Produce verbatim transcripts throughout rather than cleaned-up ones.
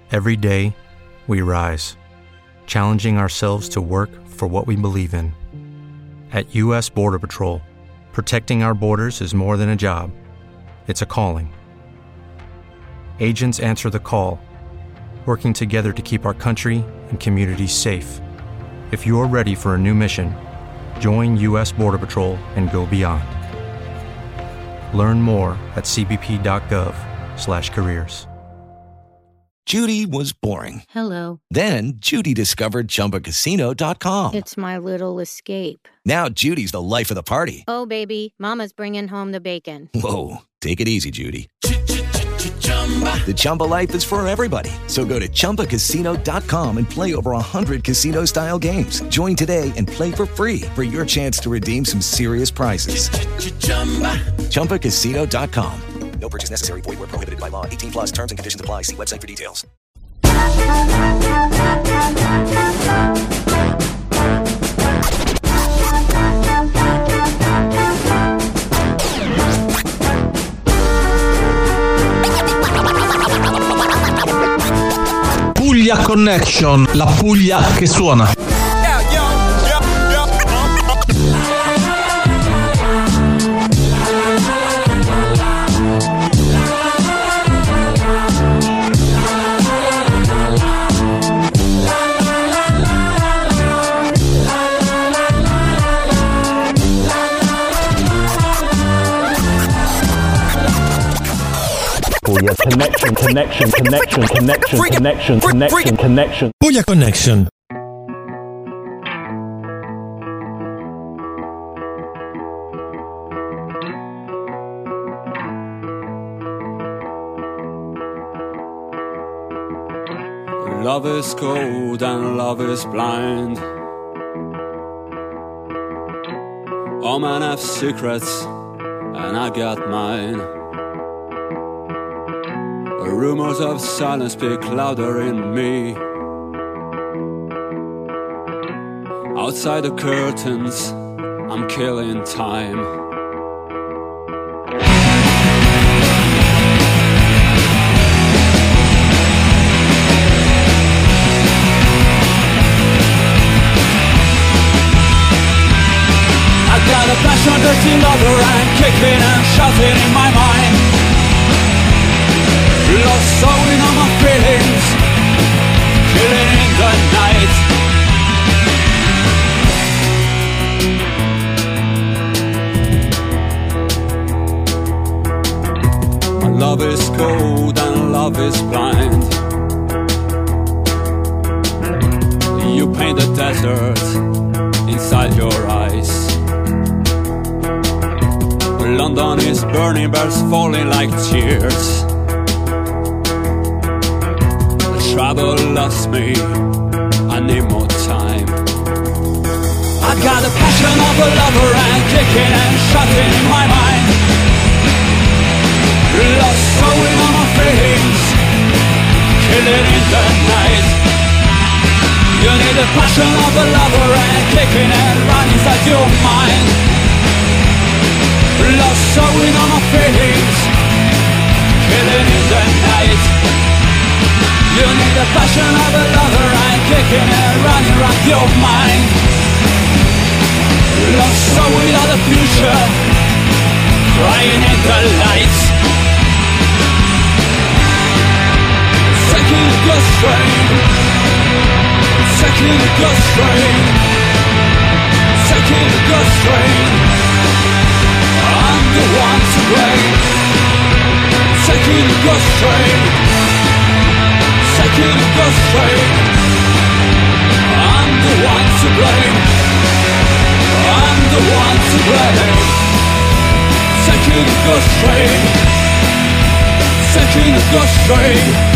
Every day, we rise, challenging ourselves to work for what we believe in. At U S Border Patrol, protecting our borders is more than a job. It's a calling. Agents answer the call, working together to keep our country and communities safe. If you're ready for a new mission, join U S Border Patrol and go beyond. Learn more at c b p dot gov slash careers. Judy was boring. Hello. Then Judy discovered Chumba Casino dot com. It's my little escape. Now Judy's the life of the party. Oh, baby, mama's bringing home the bacon. Whoa, take it easy, Judy. The Chumba life is for everybody. So go to Chumba Casino dot com and play over one hundred casino-style games. Join today and play for free for your chance to redeem some serious prizes. Chumba Casino dot com. No purchase necessary. Void where prohibited by law. eighteen plus terms and conditions apply. See website for details. Puglia Connection, la Puglia che suona. Puglia connection, connection, connection, connection, connection, connection, connection. Puglia Connection. Love is cold and love is blind. All men have secrets and I got mine. Rumors of silence speak louder in me. Outside the curtains, I'm killing time. I got a passion, dirty lover, and kicking and shouting in my mind. Lost sowing on my feelings, killing in the night. My love is cold and love is blind. You paint the desert inside your eyes. London is burning, birds falling like tears. Trouble loves me, I need more time. I got the passion of a lover and kicking and shouting in my mind. Lost sowing on my feelings, killing in the night. You need the passion of a lover and kicking and running inside your mind. Lost sowing on my feelings, killing in the night. You need the passion of a lover and kicking and running around your mind. Lost soul without a future, crying in the lights. Second ghost train, second ghost train, second ghost train. I'm the one to blame. Second ghost train, second ghost train. I'm the one to blame. I'm the one to blame. Second ghost train, second ghost train.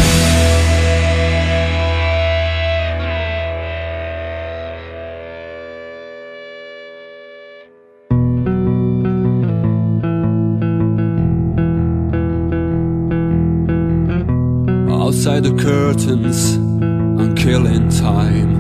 Outside the curtains, I'm killing time.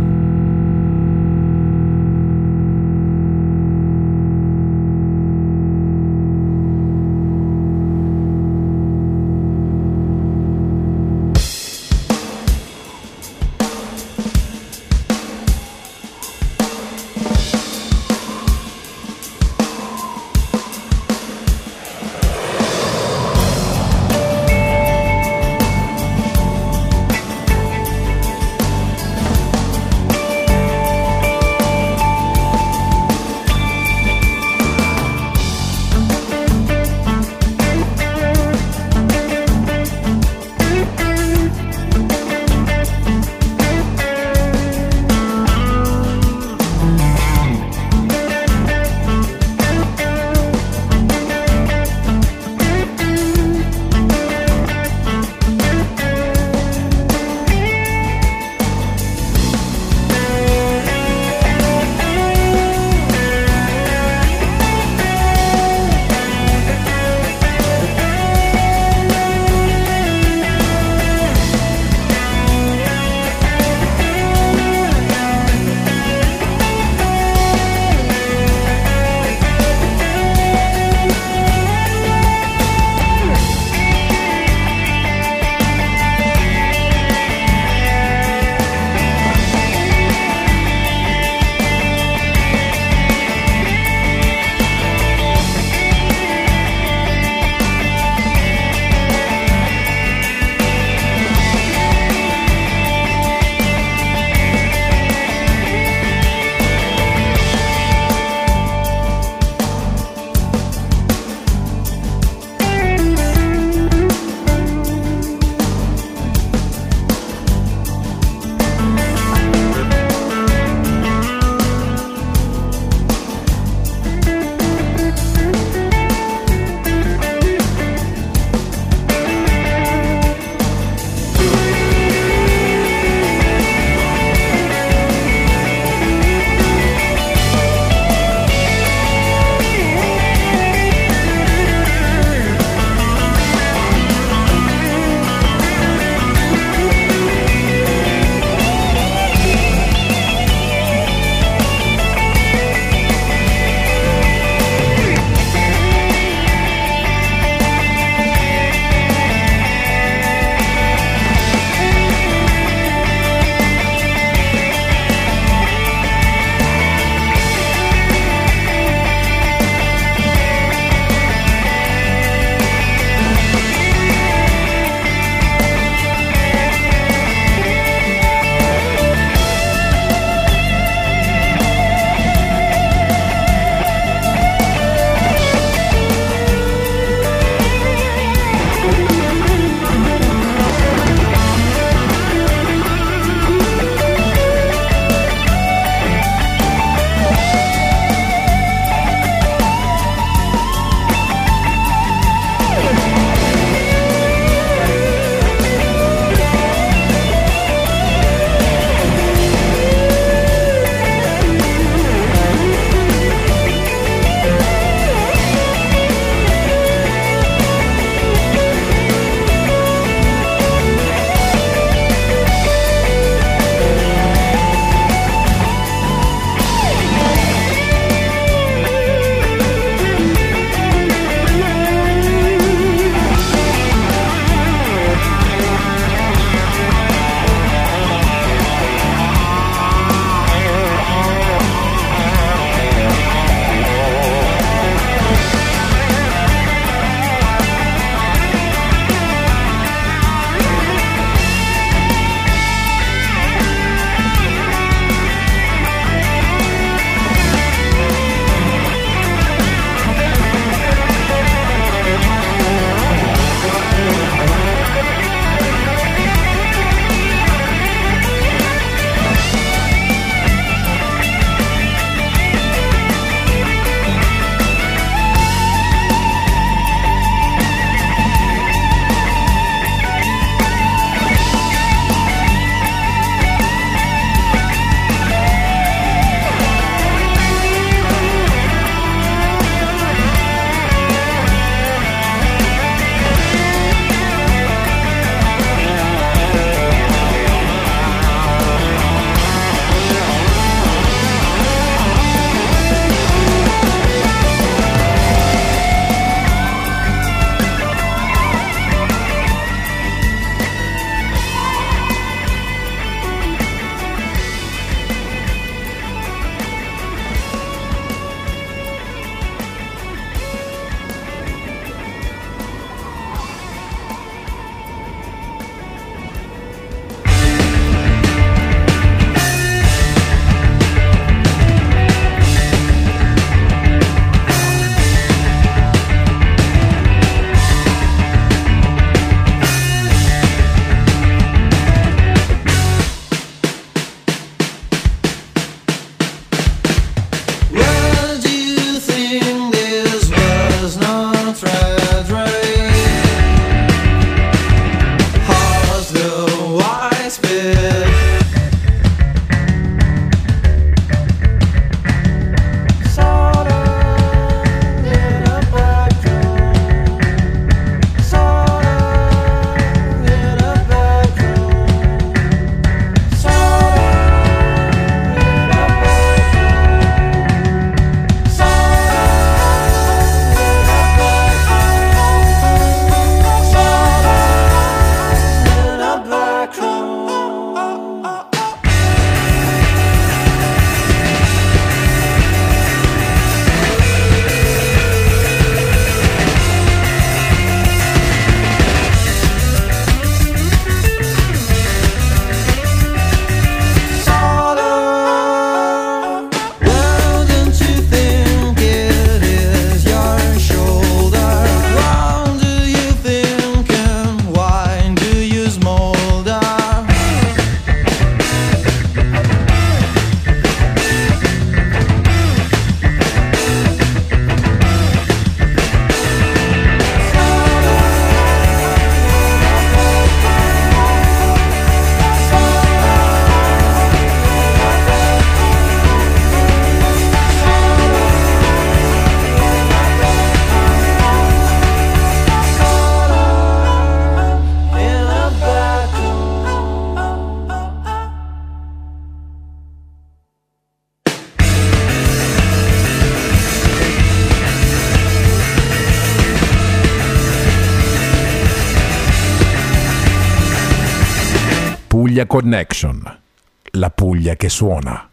Puglia Connection, la Puglia che suona.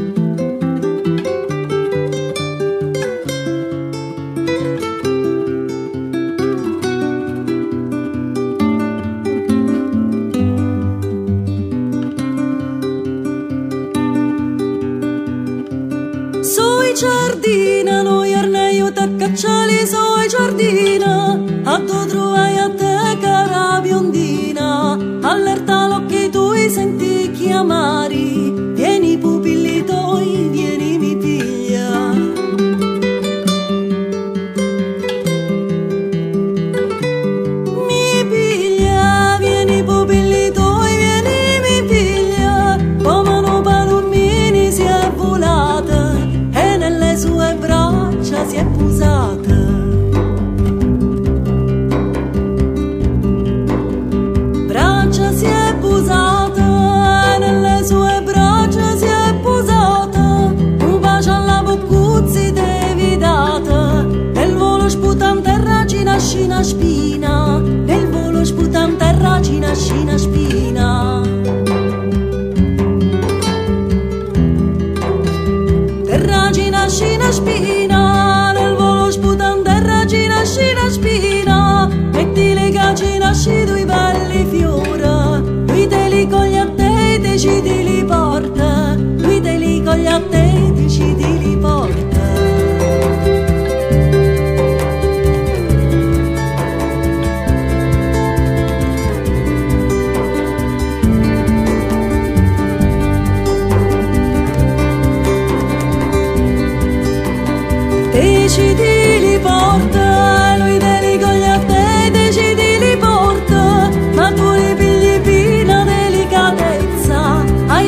Soi giardina, noi arneio te cacciali, soi giardina, a tu trovai a te cara biondina, allerta l'occhi tuoi senti chiamari, vieni pupilli tuoi, vieni mi piglia. Mi piglia, vieni pupilli tuoi, vieni mi piglia, come no palomini si è volata e nelle sue braccia si è posata. Braccia si è posata, nelle sue braccia si è posata, un bacio alla boccuzzi devi data, nel volo sputante ragina scina spina, nel volo sputante ragina scina spina. Terragina scina spina, nel volo sputante ragina scina spina, metti le gagine scido i belli fiora, lui te li coglie a te, decidi li porta, lui te li coglie a te, decidi li porta. Decidi li porta, lui te li coglie a te, decidi li porta, ma tu li pigli fino a delicatezza,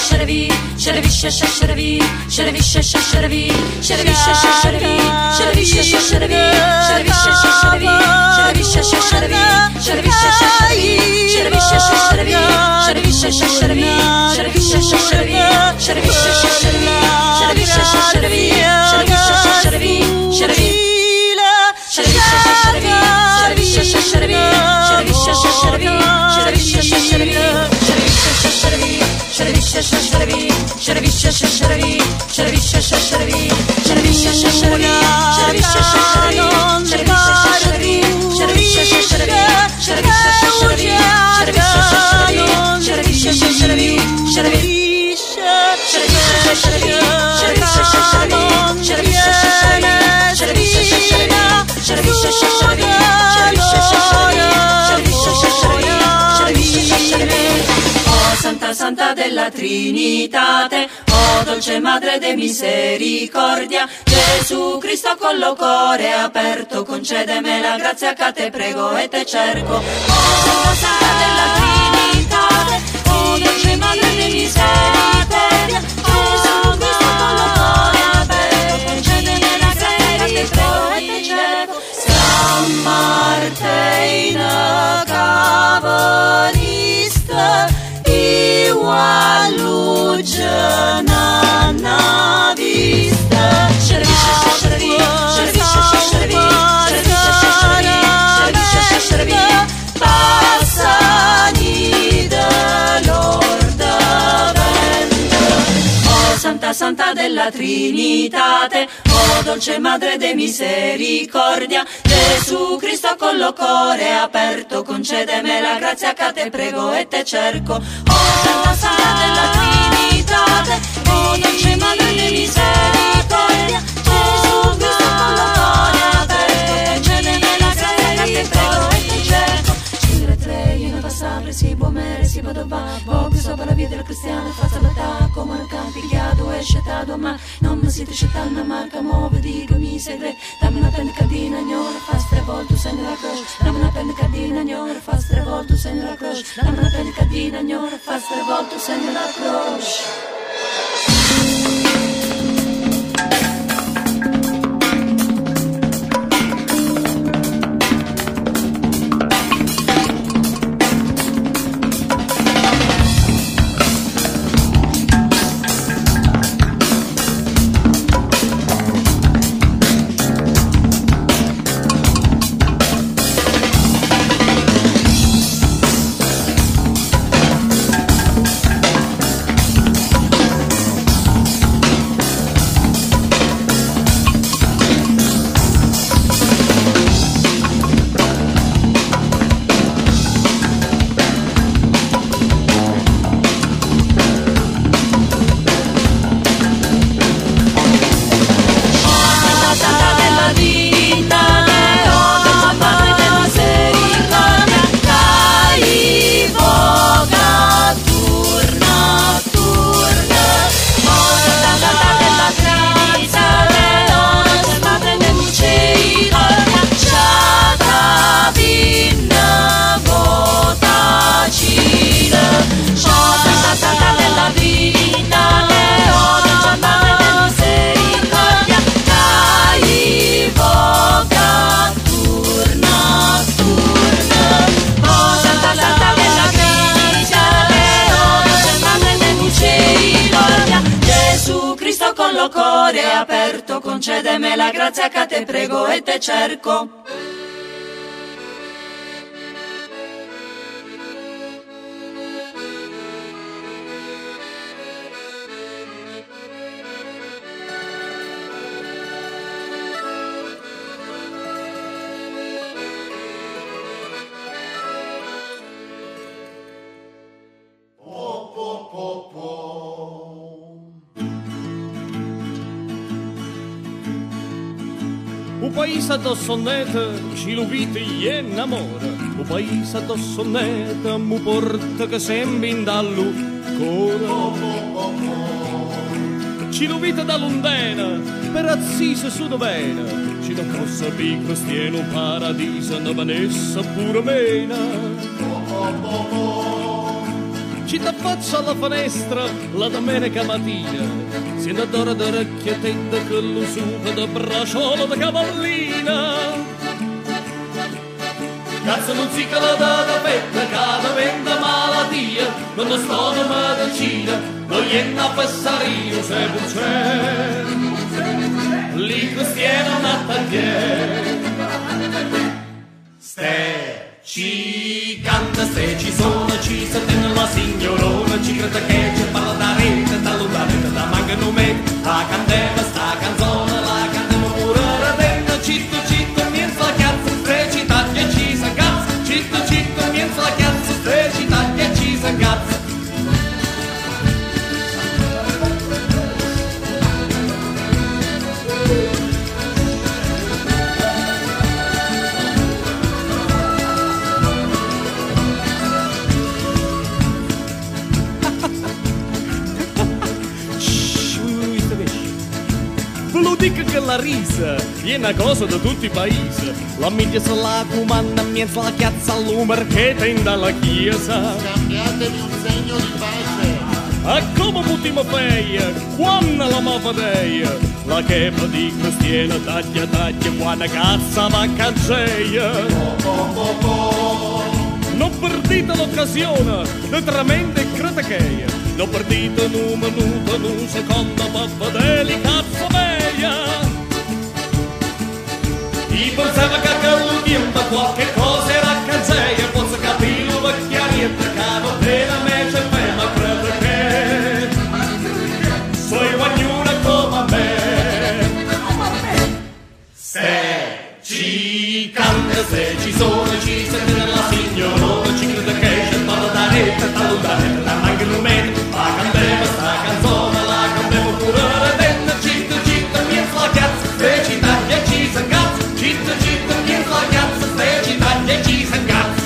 sharavi, sharavi sharavi, sharavi sharavi, sharavi sharavi, sharavi sharavi, sharavi sharavi, sharavi sharavi, sharavi sharavi, sharavi sharavi, sharavi sharavi, sharavi sharavi, sharavi sharavi, sharavi sharavi, sharavi sharavi, sharavi sharavi, Santa Santa della Trinitate, oh dolce Madre de misericordia, Gesù Cristo con lo cuore aperto, concedeme la grazia che te prego e te cerco. Oh Santa della Trinitate, oh dolce Madre de misericordia, Gesù Cristo con lo cuore aperto, concedeme la grazia che te prego e te cerco. San Martina Cavalista, Iua Luciana na vista, Sharavisha Sharavi, Sharavisha Sharavi, Sharavisha Sharavi, Sharavisha Sharavi, passani dell'orda vento. Oh Santa Santa della Trinitate, oh dolce Madre de misericordia, Gesù Cristo con lo cuore aperto, concedeme la grazia che te prego e te cerco. Oh Santa Santa della Trinitate, oh dolce Madre de misericordia, Gesù Cristo con lo cuore aperto, concedeme la grazia che te prego e te cerco. Scrivere tre, io ne passare, si può mere, si può dovare, poco sopra la via della cristiana, faccia l'attacco, come un campi, chiado e scettato, ma non mi si triscetta una marca, muove, dico, mi segre, dammi una pendicadina, gnora, fa stravolto, segno la croce, dammi una pendicadina, gnora, fa stravolto, segno la croce, dammi una pendicadina, gnora, fa stravolto, segno la croce. Cuore aperto, concedeme la grazia che te prego e te cerco. Un paese addosso neta, ci lo vite e innamora. Un paese addosso neta, mu porta che sembra in dallo cora. Ci lo vite da londena, per azzise su dovena. Ci non possa bi cristiano paradiso, ne vanessa pure mena. ci t'affaccia alla finestra la domenica mattina, si adora d'orecchie tette con lo succo da bracciolo da cavallina. Cazzo non si cala da petta, cada venda malatia, non lo sto da medicina, non gli è una passario se non c'è, lì cristiano una tagliere. Ste ci canta, ste ci sono, ci sente la signorona, ci crede che ci parla da rete, da lontano, da mancano me, la candela sta canzone, la cantiamo pure radena, citto citto, niente la cazzo, ste ci taglia ci sa cazzo, citto citto, niente la cazzo, ste ci taglia ci sa cazzo. Dico che la risa è una cosa da tutti i paesi, la media se la comanda miezza la chiazza all'umor che tende la chiesa. Cambiatevi un segno di pace. A come putima feia, quando la mafadeia, la chepa di cristiana taglia taglia, quando cazza va caggeia. Non perdite l'occasione, di tremende criticheia, non perdite un minuto, un secondo, per vedere cazzo meia. I pensava che quello tempo qualche cosa era cazzeia, posso capire lo vecchiarietto che non deve me c'è me, ma credo che sei guagnuna come me. Se ci canta, se ci sono, ci sente la signorona, ci crede che c'è parla da rete, da lontano, da manca un metro, la canteva sta canzone, la canteva pure redenda, citto citto, miezza la cazzo, se ci taglia ci sa cazzo, citto citto, miezza la cazzo, se ci taglia ci sa cazzo.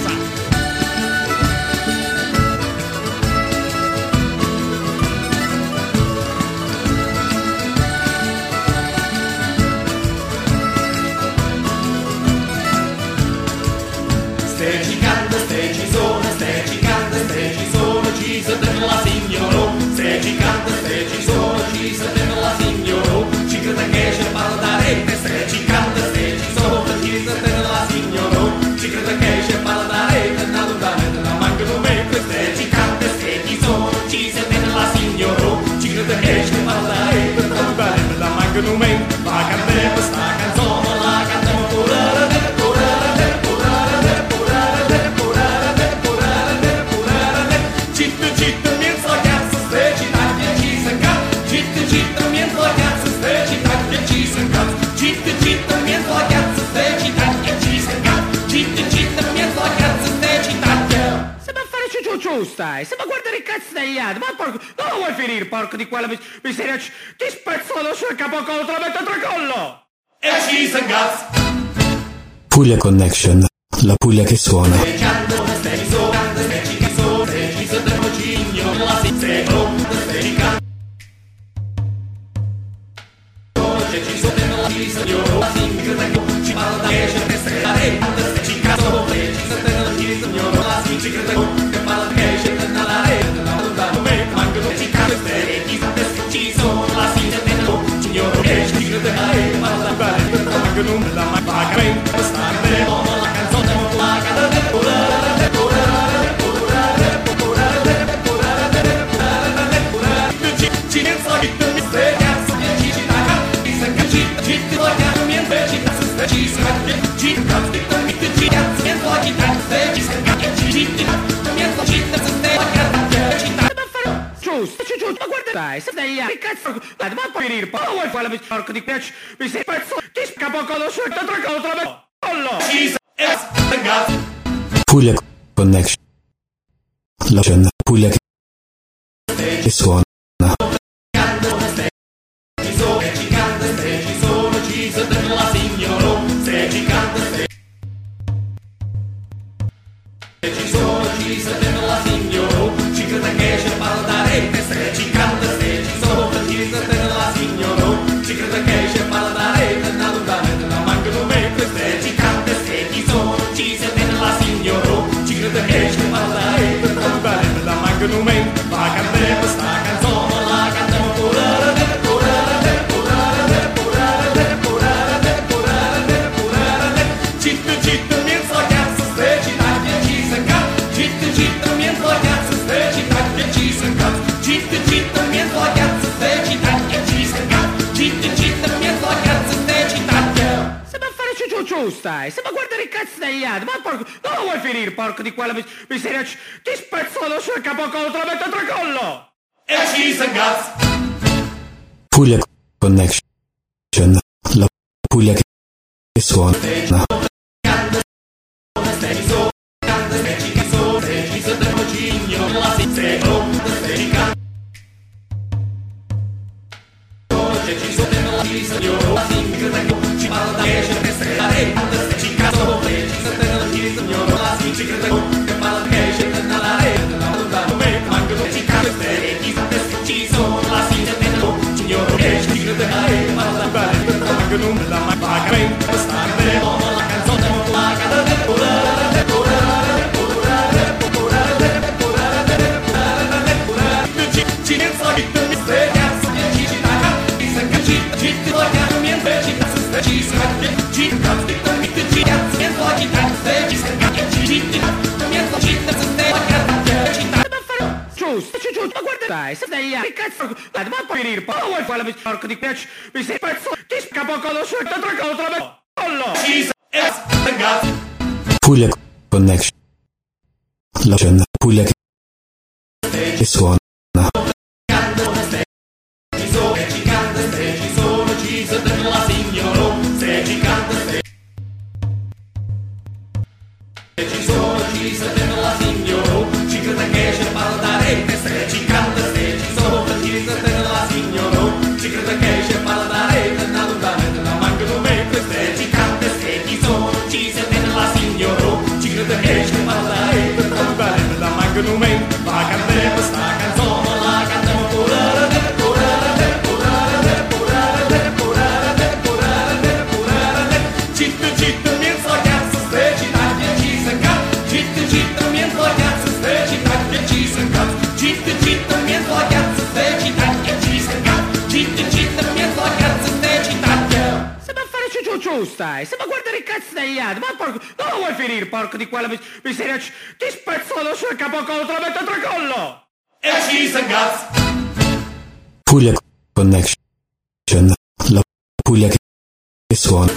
Ste ci canta, ste ci sono, ste ci canta, ste ci sono, ci sente la signora, ste ci canta, ste ci sono, ci sente la signora, ci crede che c'è parla da rete, ste ci canta, ste ci sono, ci sente la signora, ci crede che c'è parla da rete, da lontano, da mancano me, ste ci canta, ste ci sono, ci sente la signora, ci crede che c'è parla da rete, da lontano, da mancano me, la canteva sta canzone, la cantiamo pure la rete, pure la rete, pure la rete, pure la rete, pure la rete, pure la rete, pure la rete, citto citto, miezza la cazzo, ste ci taglia ci sa cazzo, citto citto, miezza la cazzo, ste ci taglia ci sa cazzo, citto citto, miezza la cazzo, ste ci taglia ci sa cazzo, citto citto, miezza la cazzo, ste ci taglia. Se ma fare ciuciu stai, se ma guardare i cazzo degli altri, ma porco, dove vuoi finire, porco di quella mis- miseria, ti spezzo lo sul capocollo, te lo metto a tracollo! E ci sa cazzo. Puglia Connection, la Puglia che suona. Giusto, giusto, ma guarda dai, se dai che cazzo, ma puoi venire, poi vuoi fare la mis- porco di piace, mi sei pezzo, ti scapocollo sul tracollo, te lo metto a tracollo! Puglia Connection, la Puglia che suona. Ci crede che c'è parla da rete, da lontano, da mancano me, ciu stai? Se ma guardare il cazzo degli altri, ma porco, non lo vuoi finire, porco di quella mis- miseria, ti spezzo lo sul capocollo, te lo metto a tracollo! E cheese and guts! Puglia Connection, la Puglia che suona. Giusto, giusto, ma guarda dai, se degli altri, che cazzo, ma puoi venire, ma vuoi fare la porco di piace, mi sei pezzo, ti capocollo sul tracollo, te lo metto collo! Cheese and guts! Puglia Connection, la Puglia che suona. Stai, se ma guardare il cazzo degli altri, ma porco, non lo vuoi finire, porco di quella mis- miseria, ti spezzo lo sul capocollo, te lo metto a tracollo! E cheese and guts! Puglia Connection, la Puglia che suona.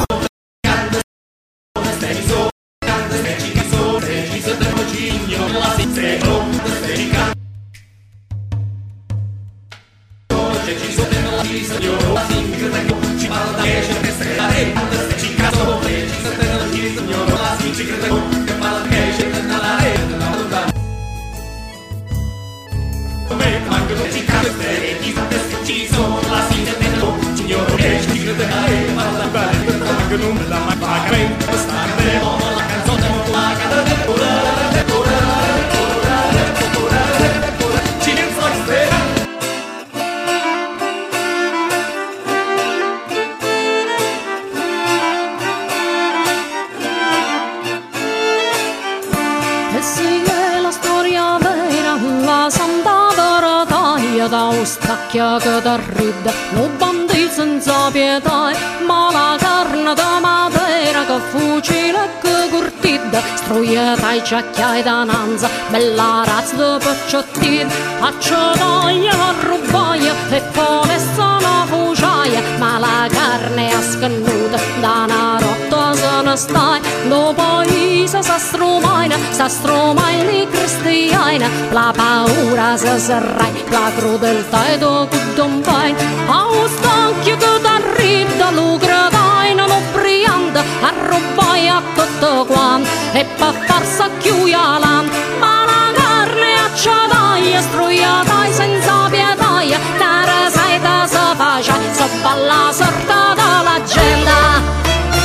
Stacchia che t'arrida, lo bandì senza pietà, ma la carne da matera che fucile che curtida, struieta e ciacchia e dananza, bella razza di pacciottina, a ciotaglia, a rubaia e poi sono fuciaia, ma la carne è scannuta, da una rotta se ne stai, lo paese sa strumaina, sa strumaina di cristiana, la paura se serrai, la crudeltà e do cudon pain, a un stacchio che t'arrida, lo gradaina, lo brianda, a rubai a tutto quanto, e per far sacchiuia l'an, ma la carne a ciadaia, struiata senza pietaia, nera saita se faccia, so balla sorta dalla gente.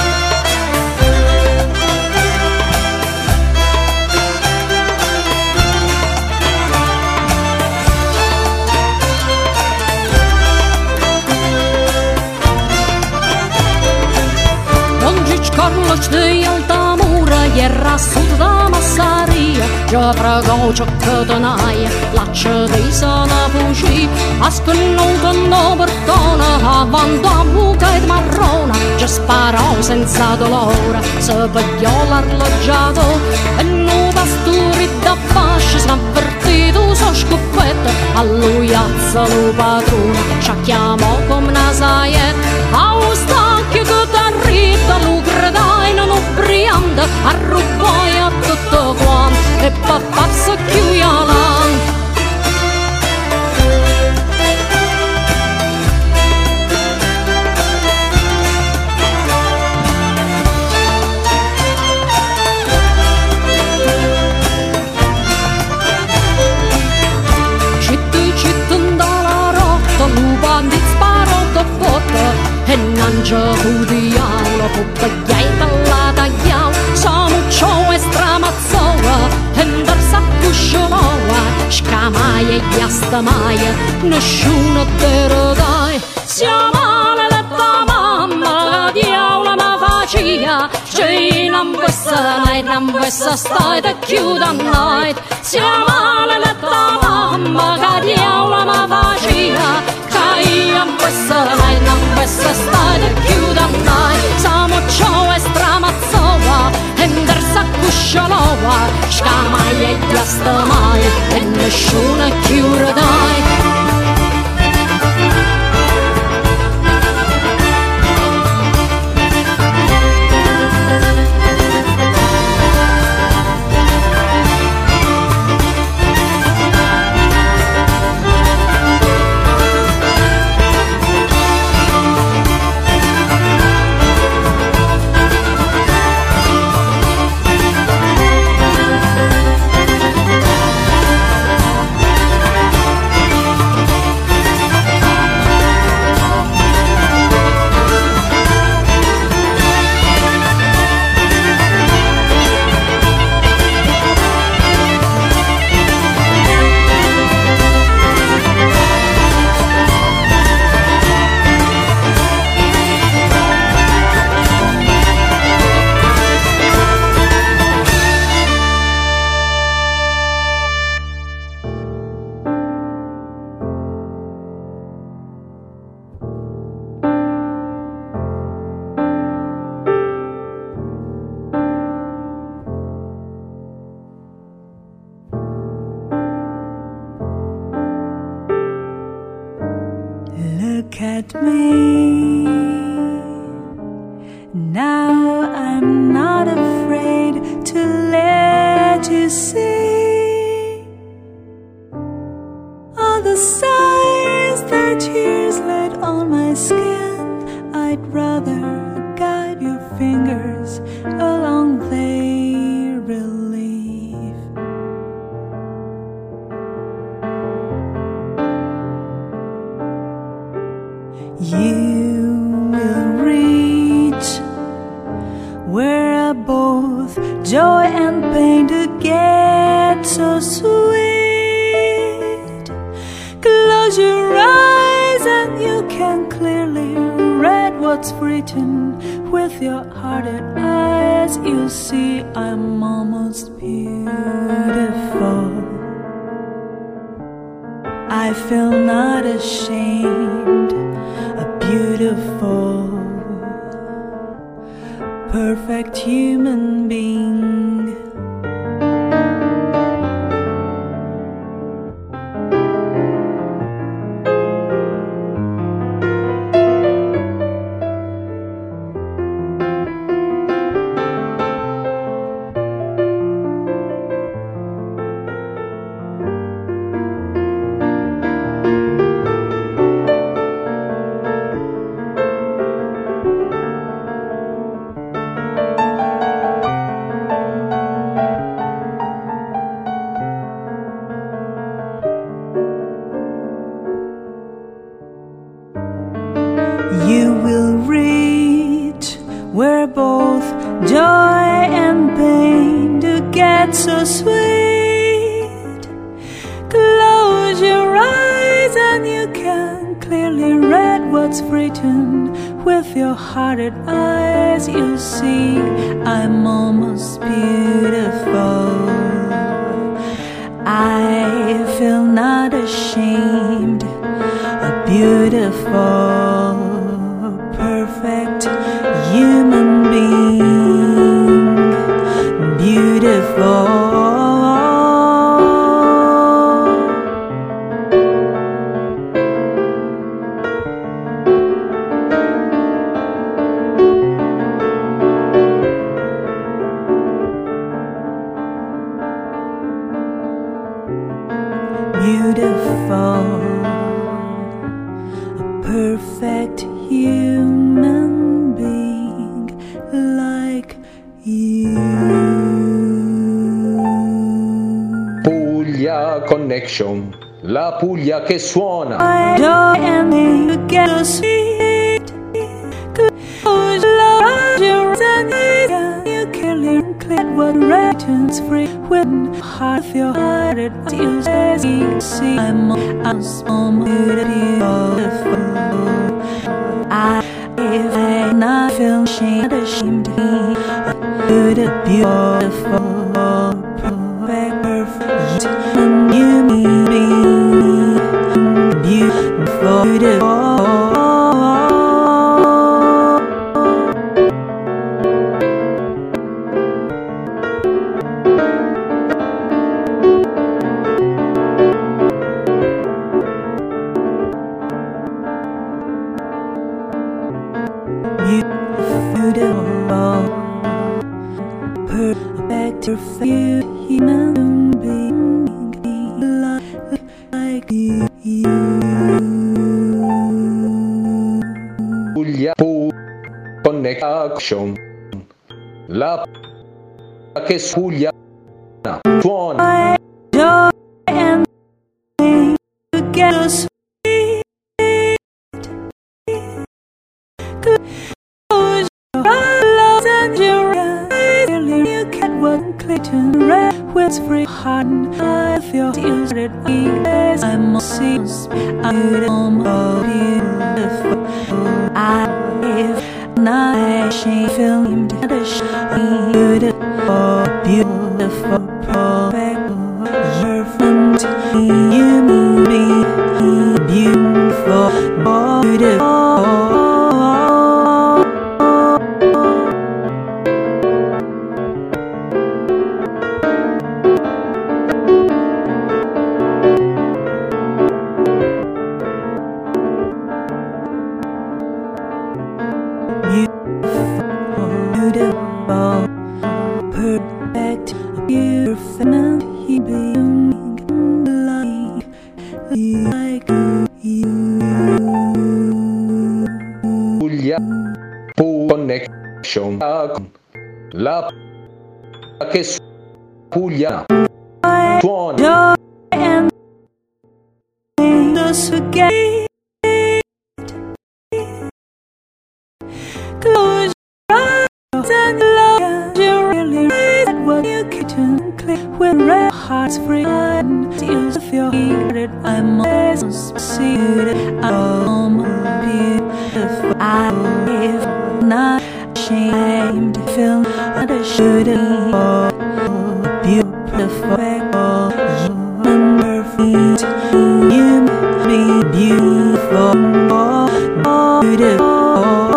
Carlos de Altamura e rassut da massaria, già pregò ciò che tenaia, l'accia di sana fuggì, a spennuto no perdona, avanti a buca e marrona, già sparò senza dolore, se pigliò l'arloggiato, e non pasturi da fascia, s'avvertito so scoppetta, a lui alza lo padrone, ci chiamò come una saietta, a un stacchio che t'arrida, lo gridai, rianda, arruboia tutto quanto e papà si chiude e non gioco di aula, poppagliata la tagliao, sono ciò e stramazzola, e ndarsa cuscioloa, scamaia e ghiastamaia, nessuno te lo dai, siamo maledetta mamma, che diaula ma facia, c'è non questa night, non questa stai te chiude a night, siamo maledetta mamma, che diaula ma facia, non questa night, non questa stai chiuda mai, siamo ciò e stramazzola, e ndarsa cuscioloa, scamaia e ghiastamaia, e nessuno chiude dai. Look at me, now I'm not afraid to let you see all the signs that tears laid on my skin. I'd rather guide your fingers along their relief. You will reach where both joy and pain do get so sweet. Close your eyes and you can clearly read what's written. With your hearted eyes you'll see I'm almost beautiful. I feel not ashamed, a beautiful, perfect human being. You will reach where both joy and pain do get so sweet. Close your eyes and you can clearly read what's written. With your hearted eyes you'll see I'm almost beautiful. I feel not ashamed, a beautiful, perfect human being, beautiful. Connection, la Puglia che suona. What returns free when half your heart it is as you see I'm I'm so beautiful I if I not feel ashamed ashamed to be beautiful perfect and you me beautiful beautiful human being like you. Puglia Pu Connection, la che Puglia suona. Joy and together sweet. Close your eyes and your eyes. You can one Clayton red with free heart. I feel tears that I I'm a seas. I'm beautiful. I if not she feel him to the shine. Beautiful, beautiful, perfect. Perfect. You me beautiful, beautiful. Connection, la che Puglia suona. Close your eyes and love you really raise what you can click when red hearts free and tears of your heart. I'm always succeeded. I'm beautiful. I live not ashamed to feel that I shouldn't be beautiful. Human perfect. You be beautiful. Beautiful.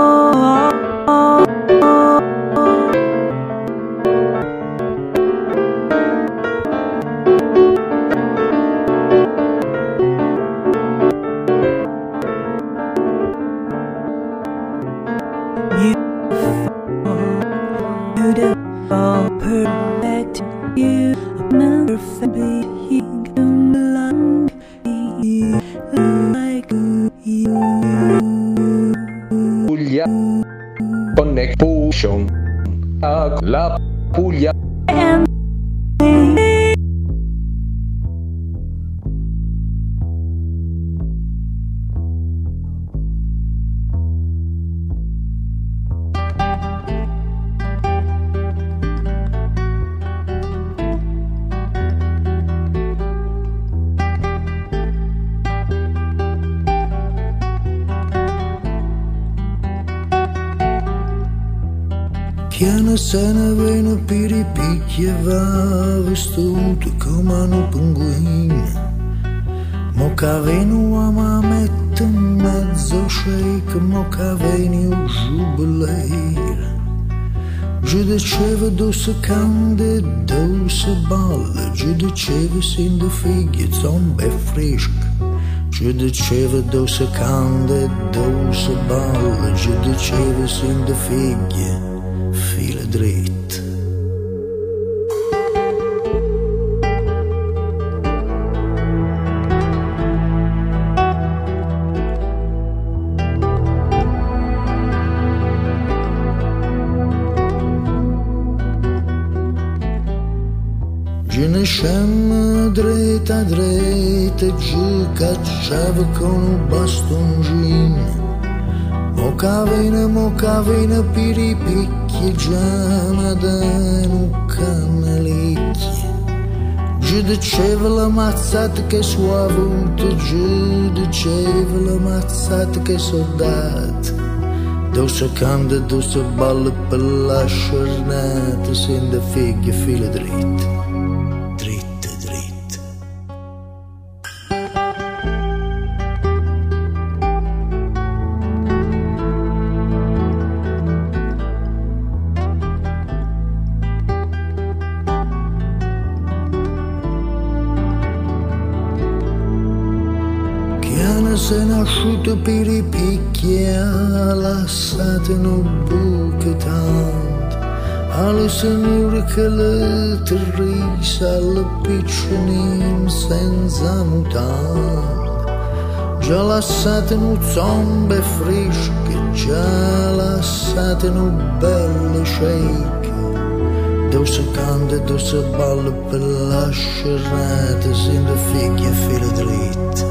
Puglia Connection, la Puglia. Chiana se ne vene per i picchi e va vestuto come un pinguino. Mo che venu a ma mette in mezzo shake, mo che venu giubileire. Giù diceva dosse cande, dosse balle, giù diceva sin de figlie, zombe fresche. Giù diceva dosse cande, dosse balle, giù diceva sin de figlie. Fila dritt. Je ne ne scemma dritta dritta e giù cacciava con un bastoncino. Mo cavina, mo cavina per i picchi, già ma da un camelicchio. Giù diceva la mazzata che so avuto, giù diceva la mazzata che so dato. Dove si canta, dove si balla per la giornata, sente figlie fila dritte, dritte, dritte. Chiana se nasciuto per i picchi, ha lasciato in un buco tanto. Alle signore che le terrisa, alle piccinine senza mutande. Già lasciate in un zombe fresche, già lasciate in un belle shake. Dove si canta, dove si balla per la scerrata, sente figlie e fila dritte.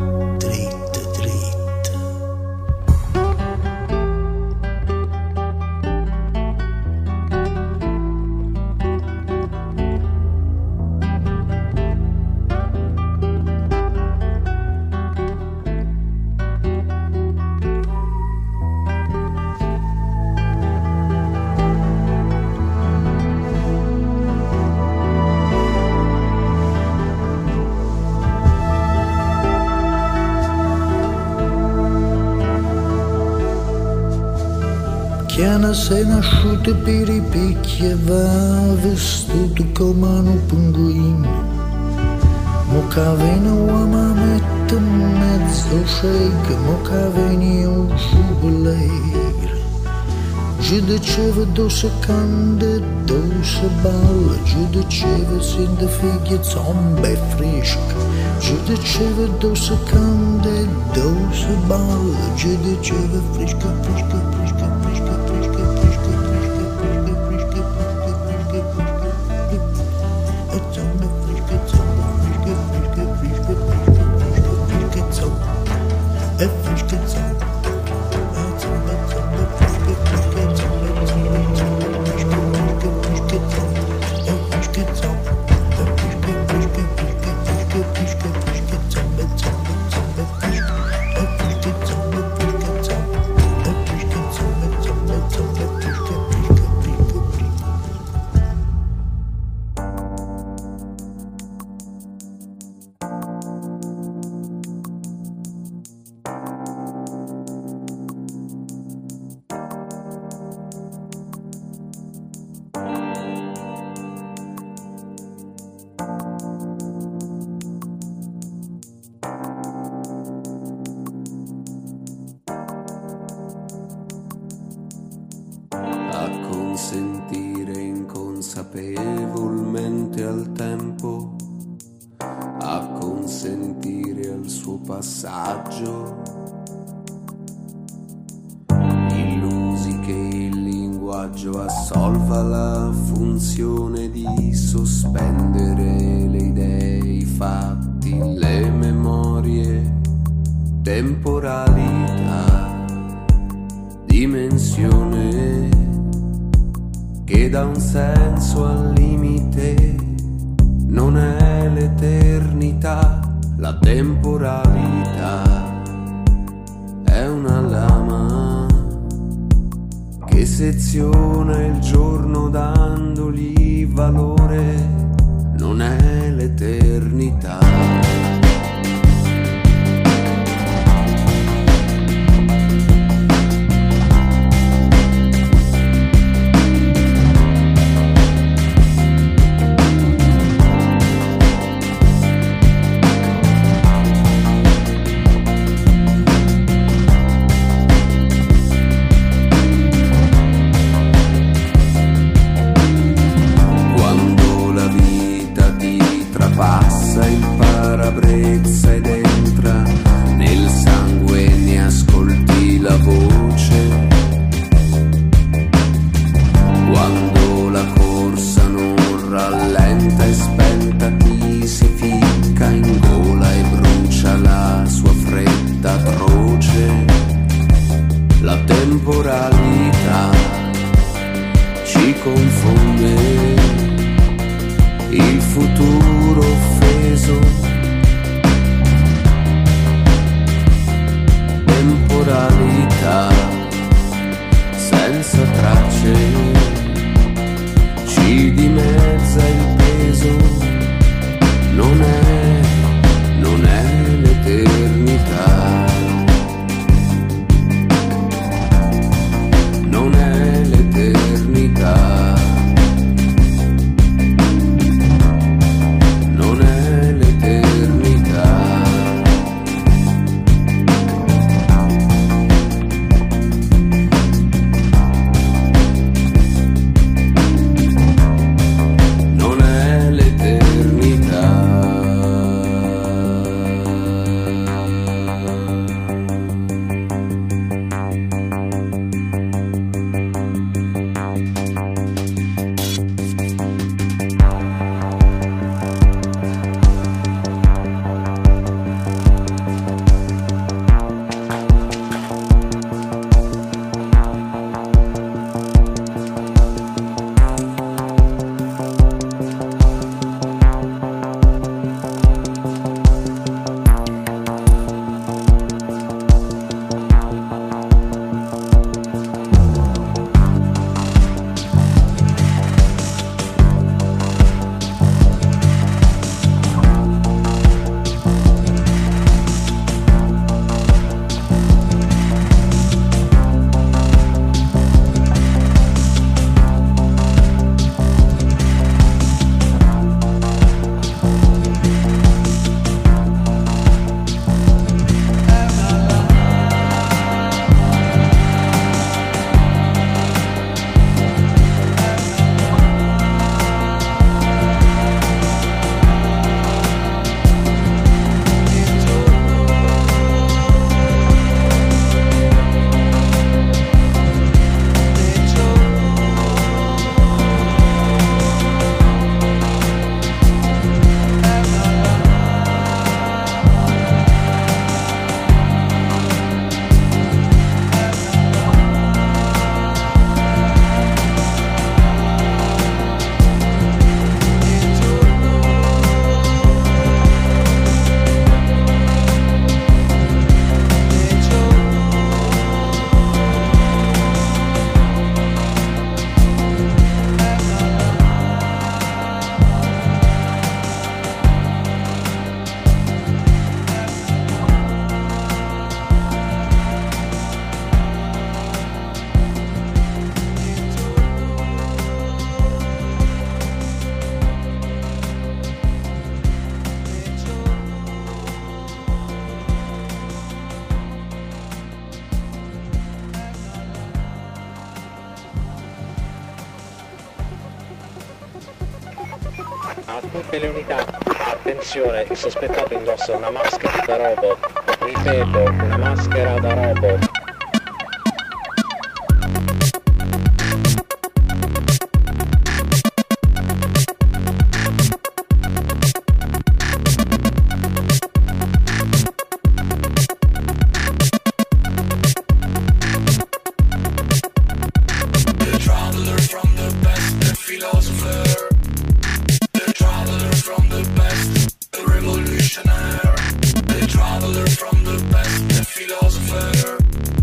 Chiana sei nasciuta per i picchi e va vestito come un pinguino. Mo cavena uomo mette in mezzo shake, mo caveni un giubileiro. Giù diceva dove si canta, dove si balla, giù diceva sente figlie zombe fresche. Giù diceva dove si canta, dove si balla, giù diceva fresca, fresca, fresca. Sentire inconsapevolmente al tempo, a consentire al suo passaggio, illusi che il linguaggio assolva la funzione di sospendere le idee, i fatti, le memorie, temporalità, dimensione che dà un senso al limite, non è l'eternità, la temporalità è una lama che seziona il giorno dandogli valore, non è l'eternità. Passa il paradiso temporalità ci confonde, il futuro offeso, temporalità senza tracce, ci dimezza il peso, non è, non è l'eternità. Non è l'eternità, non è l'eternità. Non è l'eternità. A tutte le unità, attenzione, il sospettato indossa una maschera da robot. Ripeto, una maschera da robot. From the best, the philosopher.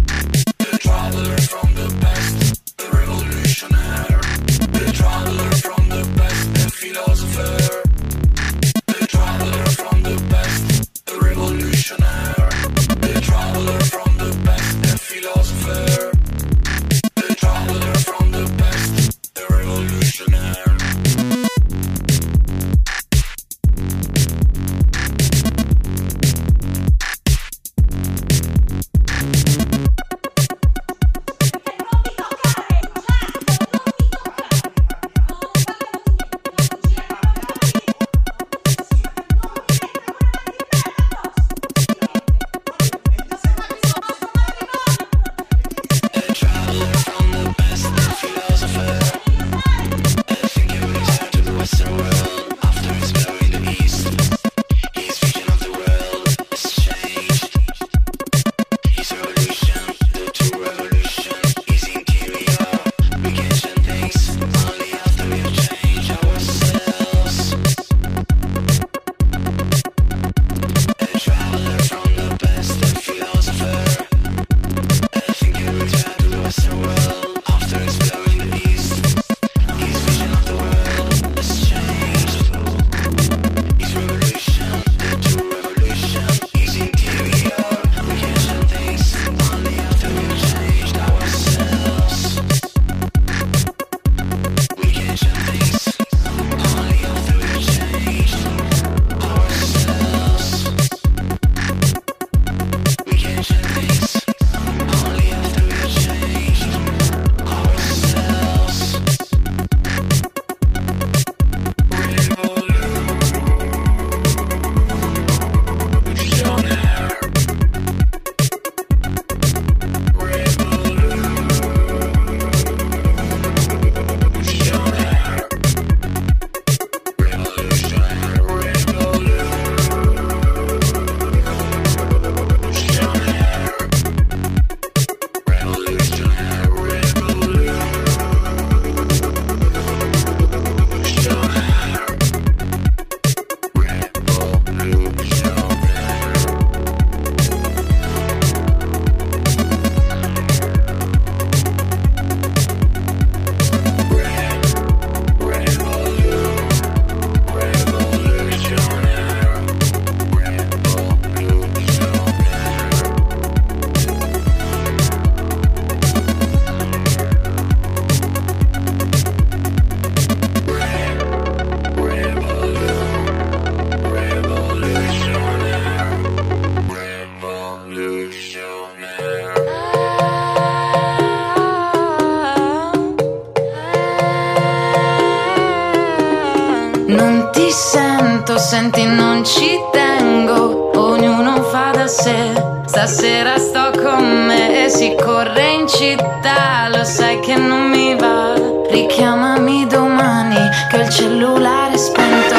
senti non ci tengo, ognuno fa da sé. Stasera sto con me e si corre in città, lo sai che non mi va. Richiamami domani che il cellulare è spento.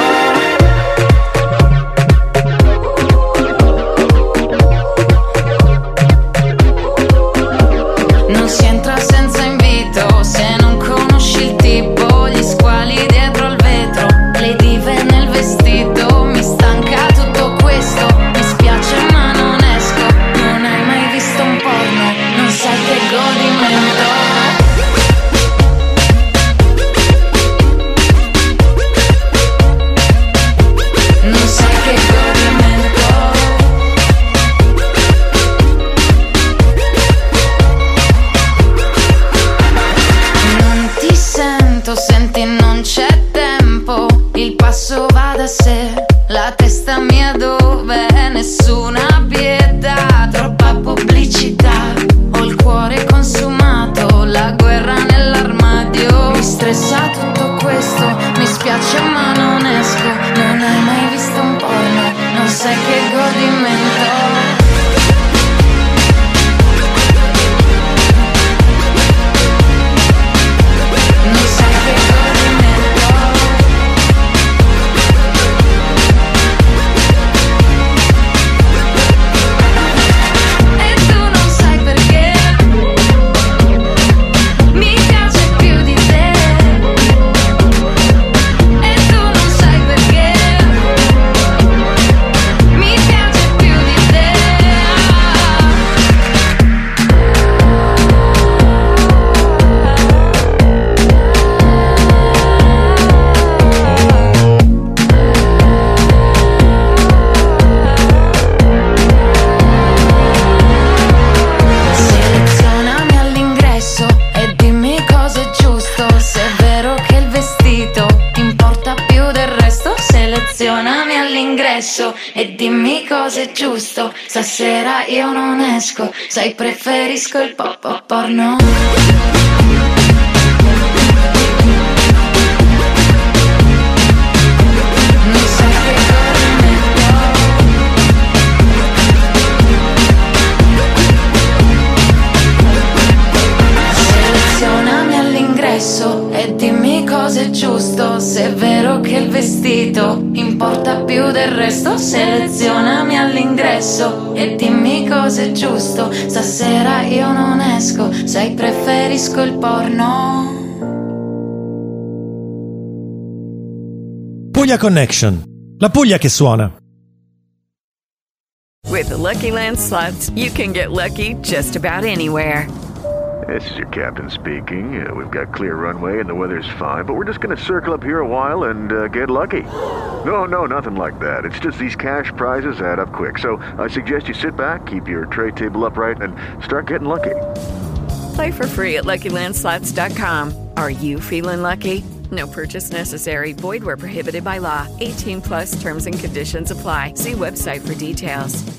Non si entra senza invito, se non conosci il tipo, gli squali dietro al vetro, le dive nel vestito. Mi stanca tutto questo, mi spiace ma non esco. Non hai mai visto un porno, non sai che godimento. Non sai che godimento. Non ti sento, senti non c'è tempo, il passo va da sé, la testa mia dove nessuna pietà, troppa pubblicità, ho il cuore consumato, la guerra nell'armadio, mi stressa tutto questo, mi spiace ma non esco, non hai mai visto un porno, non sai che godimento. Non sai che godimento. E tu non sai perché mi piace più di te. E tu non sai perché mi piace più di te. Selezionami all'ingresso e dimmi cosa è giusto, se è vero che il vestito importa più del resto. Selezionami all'ingresso e dimmi cosa è giusto, stasera io non esco, sai preferisco il pop pop porno. Non sai che godimento. Selezionami all'ingresso e dimmi cosa è giusto, se è vero che il vestito importa più del resto. Selezionami all'ingresso e dimmi cosa è giusto, stasera io non esco, sai preferisco il porno. Puglia Connection, la Puglia che suona. With the Lucky Land Slots, you can get lucky just about anywhere. This is your captain speaking. Uh, we've got clear runway and the weather's fine, but we're just going to circle up here a while and uh, get lucky. No, no, nothing like that. It's just these cash prizes add up quick. So I suggest you sit back, keep your tray table upright, and start getting lucky. Play for free at Lucky Land Slots dot com. Are you feeling lucky? No purchase necessary. Void where prohibited by law. eighteen plus terms and conditions apply. See website for details.